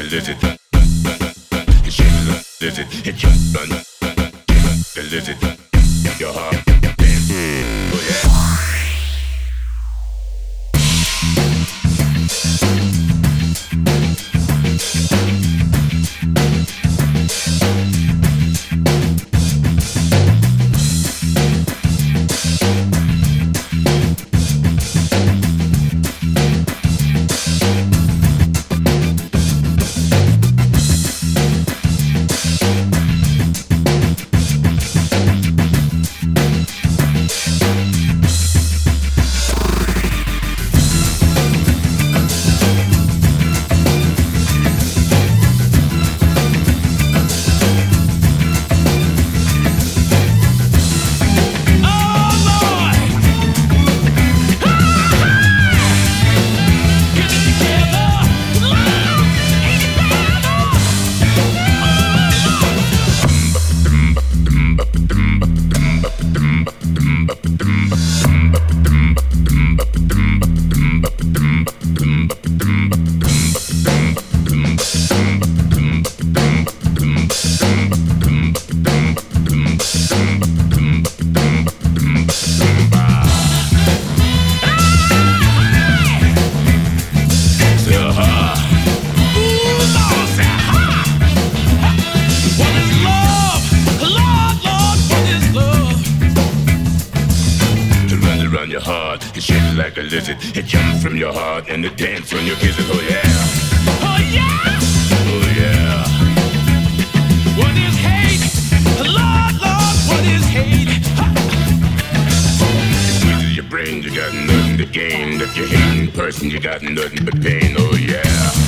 lizard. It shakes like a lizard. It jumps on like a lizard. Your heart dance. Oh yeah. It jumps from your heart and it dances when you kiss it. Oh yeah. Oh yeah. Oh yeah. What is hate? Lord, Lord, what is hate? It squeezes your brain, you got nothing to gain. If you're hating person, you got nothing but pain. Oh yeah.